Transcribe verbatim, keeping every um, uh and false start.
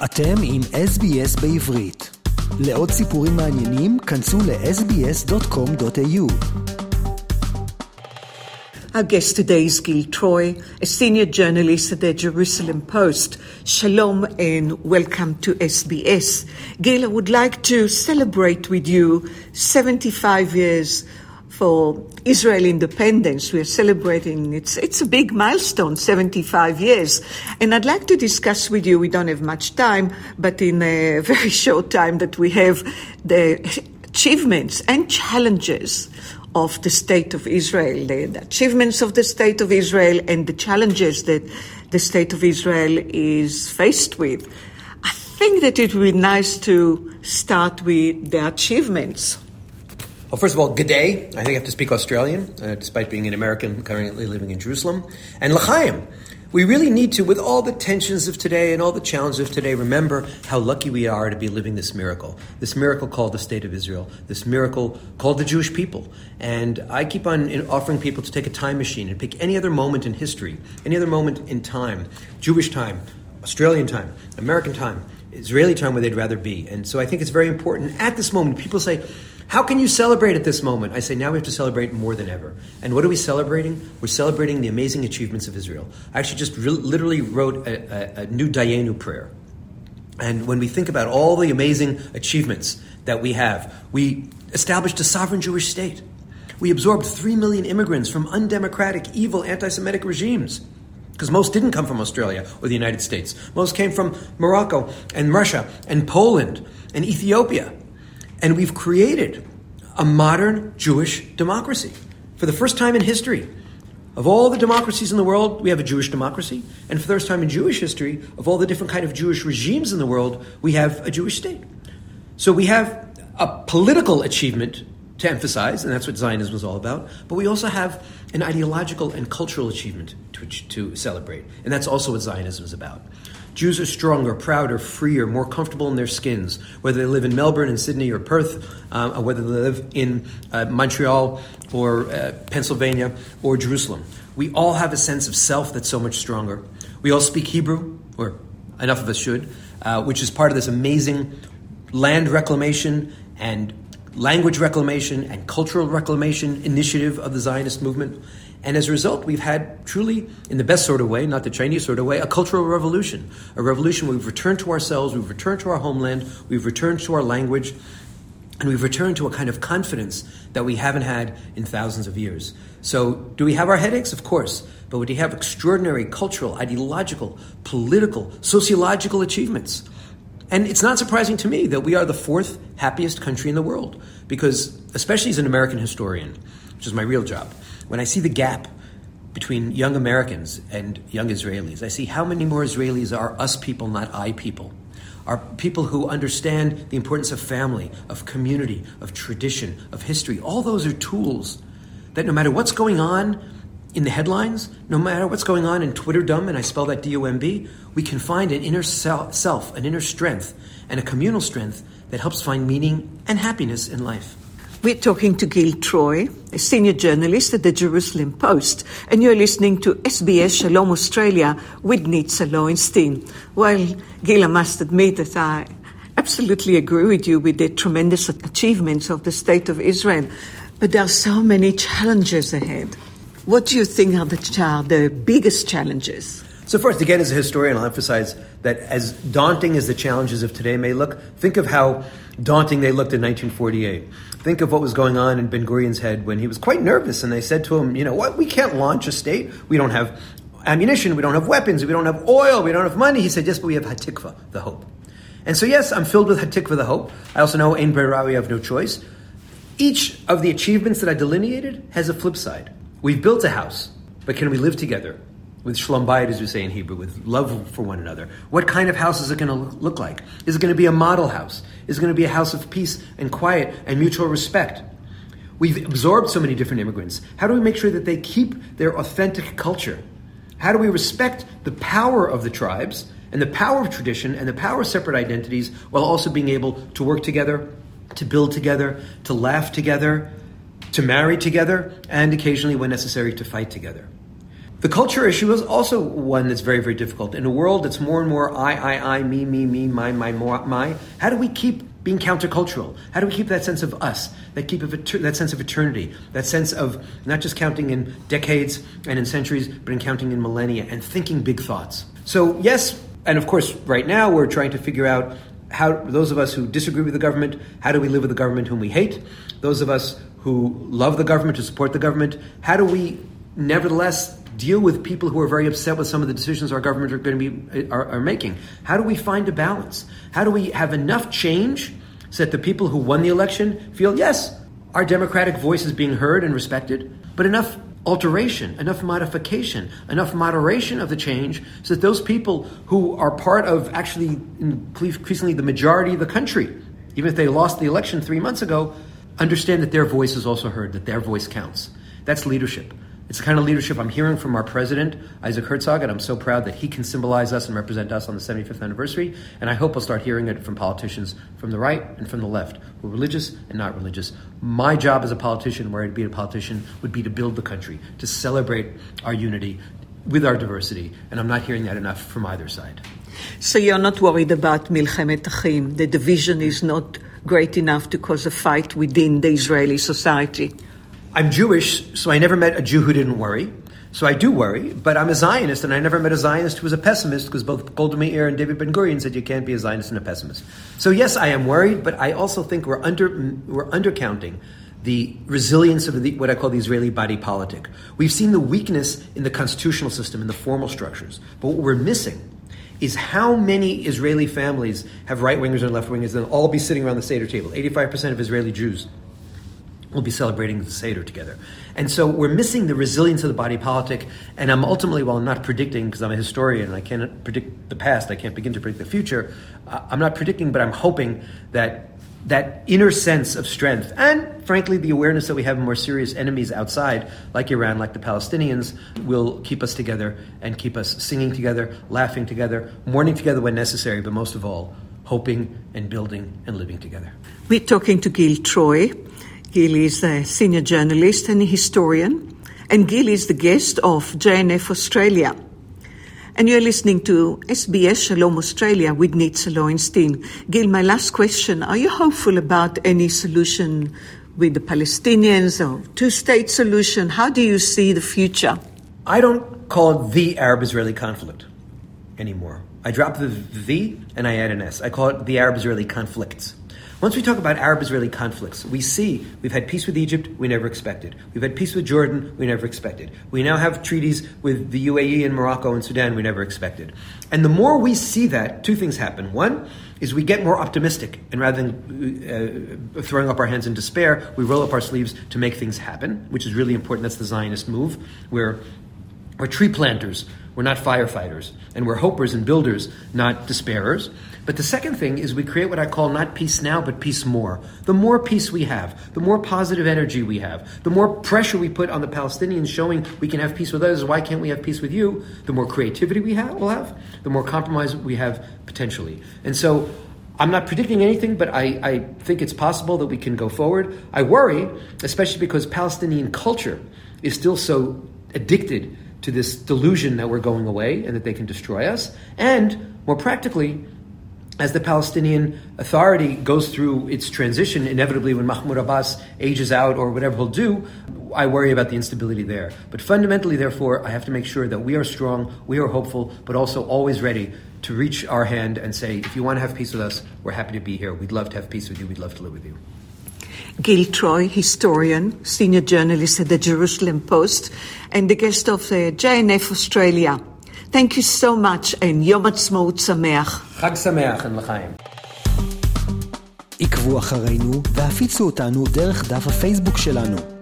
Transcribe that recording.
אתם עם אס בי אס בעברית. לעוד סיפורים מעניינים, כנסו ל-אס בי אס דוט קום דוט איי יו. Our guest today is Gil Troy, a senior journalist at the Jerusalem Post. Shalom and welcome to S B S. Gil, I would like to celebrate with you seventy-five years for Israel independence. We are celebrating, it's, it's a big milestone, seventy-five years. And I'd like to discuss with you, we don't have much time, but in a very short time that we have the achievements and challenges of the state of Israel, the, the achievements of the state of Israel and the challenges that the state of Israel is faced with. I think that it would be nice to start with the achievements. Well, first of all, good day. I think I have to speak Australian, uh, despite being an American currently living in Jerusalem. And l'chaim. We really need to, with all the tensions of today and all the challenges of today, remember how lucky we are to be living this miracle. This miracle called the State of Israel. This miracle called the Jewish people. And I keep on offering people to take a time machine and pick any other moment in history, any other moment in time, Jewish time, Australian time, American time, Israeli time, where they'd rather be. And so I think it's very important. At this moment, people say, how can you celebrate at this moment? I say, now we have to celebrate more than ever. And what are we celebrating? We're celebrating the amazing achievements of Israel. I actually just re- literally wrote a, a, a new Dayenu prayer. And when we think about all the amazing achievements that we have, we established a sovereign Jewish state. We absorbed three million immigrants from undemocratic, evil, anti-Semitic regimes. Because most didn't come from Australia or the United States. Most came from Morocco and Russia and Poland and Ethiopia. And we've created a modern Jewish democracy. For the first time in history, of all the democracies in the world, we have a Jewish democracy. And for the first time in Jewish history, of all the different kind of Jewish regimes in the world, we have a Jewish state. So we have a political achievement to emphasize, and that's what Zionism is all about. But we also have an ideological and cultural achievement to, to celebrate. And that's also what Zionism is about. Jews are stronger, prouder, freer, more comfortable in their skins, whether they live in Melbourne and Sydney or Perth, uh, or whether they live in uh, Montreal or uh, Pennsylvania or Jerusalem. We all have a sense of self that's so much stronger. We all speak Hebrew, or enough of us should, uh, which is part of this amazing land reclamation and language reclamation and cultural reclamation initiative of the Zionist movement. And as a result, we've had truly, in the best sort of way, not the Chinese sort of way, a cultural revolution. A revolution where we've returned to ourselves, we've returned to our homeland, we've returned to our language, and we've returned to a kind of confidence that we haven't had in thousands of years. So, do we have our headaches? Of course. But we have extraordinary cultural, ideological, political, sociological achievements. And it's not surprising to me that we are the fourth happiest country in the world. Because, especially as an American historian, which is my real job, when I see the gap between young Americans and young Israelis, I see how many more Israelis are us people, not I people. Are people who understand the importance of family, of community, of tradition, of history. All those are tools that no matter what's going on in the headlines, no matter what's going on in Twitterdom, and I spell that D O M B, we can find an inner self, an inner strength, and a communal strength that helps find meaning and happiness in life. We're talking to Gil Troy, a senior journalist at the Jerusalem Post, and you're listening to S B S Shalom Australia with Nitza Lowenstein. Well, Gil, I must admit that I absolutely agree with you with the tremendous achievements of the State of Israel, but there are so many challenges ahead. What do you think are the, ch- the biggest challenges? So first, again, as a historian, I'll emphasize that as daunting as the challenges of today may look, think of how daunting they looked in nineteen forty-eight. Think of what was going on in Ben-Gurion's head when he was quite nervous and they said to him, you know what, we can't launch a state. We don't have ammunition. We don't have weapons. We don't have oil. We don't have money. He said, yes, but we have Hatikva, the hope. And so, yes, I'm filled with Hatikva, the hope. I also know Ein Brera, we have no choice. Each of the achievements that I delineated has a flip side. We've built a house, but can we live together? With shalom bayit, as we say in Hebrew, with love for one another. What kind of house is it going to look like? Is it going to be a model house? Is it going to be a house of peace and quiet and mutual respect? We've absorbed so many different immigrants. How do we make sure that they keep their authentic culture? How do we respect the power of the tribes and the power of tradition and the power of separate identities while also being able to work together, to build together, to laugh together, to marry together, and occasionally, when necessary, to fight together? The culture issue is also one that's very, very difficult. In a world that's more and more I, I, I, me, me, me, my, my, my, how do we keep being countercultural? How do we keep that sense of us, that keep of that sense of eternity, that sense of not just counting in decades and in centuries, but in counting in millennia and thinking big thoughts? So yes, and of course, right now we're trying to figure out how, those of us who disagree with the government, how do we live with the government whom we hate? Those of us who love the government, who support the government, how do we nevertheless deal with people who are very upset with some of the decisions our government are going to be are, are making? How do we find a balance? How do we have enough change so that the people who won the election feel, yes, our democratic voice is being heard and respected, but enough alteration, enough modification, enough moderation of the change so that those people who are part of actually increasingly the majority of the country, even if they lost the election three months ago, understand that their voice is also heard, that their voice counts. That's leadership. It's the kind of leadership I'm hearing from our president, Isaac Herzog, and I'm so proud that he can symbolize us and represent us on the seventy-fifth anniversary. And I hope we'll start hearing it from politicians from the right and from the left, who are religious and not religious. My job as a politician, where I'd be a politician, would be to build the country, to celebrate our unity with our diversity. And I'm not hearing that enough from either side. So you're not worried about Milchemet Achim? The division is not great enough to cause a fight within the Israeli society? I'm Jewish, so I never met a Jew who didn't worry. So I do worry, but I'm a Zionist, and I never met a Zionist who was a pessimist, because both Golda Meir and David Ben-Gurion said you can't be a Zionist and a pessimist. So yes, I am worried, but I also think we're under we're undercounting the resilience of the, what I call the Israeli body politic. We've seen the weakness in the constitutional system, in the formal structures, but what we're missing is how many Israeli families have right-wingers and left-wingers, and they'll all be sitting around the Seder table. eighty-five percent of Israeli Jews will be celebrating the Seder together. And so we're missing the resilience of the body politic, and I'm ultimately, while I'm not predicting, because I'm a historian and I can't predict the past, I can't begin to predict the future, uh, I'm not predicting, but I'm hoping that that inner sense of strength, and frankly the awareness that we have more serious enemies outside, like Iran, like the Palestinians, will keep us together and keep us singing together, laughing together, mourning together when necessary, but most of all, hoping and building and living together. We're talking to Gil Troy. Gil is a senior journalist and a historian, and Gil is the guest of J N F Australia. And you're listening to S B S Shalom Australia with Nitza Lowenstein. Gil, my last question, are you hopeful about any solution with the Palestinians or two-state solution? How do you see the future? I don't call it the Arab-Israeli conflict anymore. I drop the the and I add an S. I call it the Arab-Israeli conflicts. Once we talk about Arab-Israeli conflicts, we see we've had peace with Egypt, we never expected. We've had peace with Jordan, we never expected. We now have treaties with the U A E and Morocco and Sudan, we never expected. And the more we see that, two things happen. One is we get more optimistic, and rather than uh, throwing up our hands in despair, we roll up our sleeves to make things happen, which is really important. That's the Zionist move. We're, we're tree planters, we're not firefighters, and we're hopers and builders, not despairers. But the second thing is we create what I call not peace now, but peace more. The more peace we have, the more positive energy we have, the more pressure we put on the Palestinians showing we can have peace with others, why can't we have peace with you? The more creativity we have, we'll have, the more compromise we have potentially. And so I'm not predicting anything, but I, I think it's possible that we can go forward. I worry, especially because Palestinian culture is still so addicted to this delusion that we're going away and that they can destroy us. And more practically, as the Palestinian Authority goes through its transition, inevitably when Mahmoud Abbas ages out or whatever he'll do, I worry about the instability there. But fundamentally, therefore, I have to make sure that we are strong, we are hopeful, but also always ready to reach our hand and say, if you want to have peace with us, we're happy to be here. We'd love to have peace with you. We'd love to live with you. Gil Troy, historian, senior journalist at the Jerusalem Post, and the guest of the J N F Australia. Thank you so much, and Yom Ha'atzmaut Sameach. Chag Sameach and L'chaim. עקבו אחרינו והפיצו אותנו דרך דף הפייסבוק שלנו.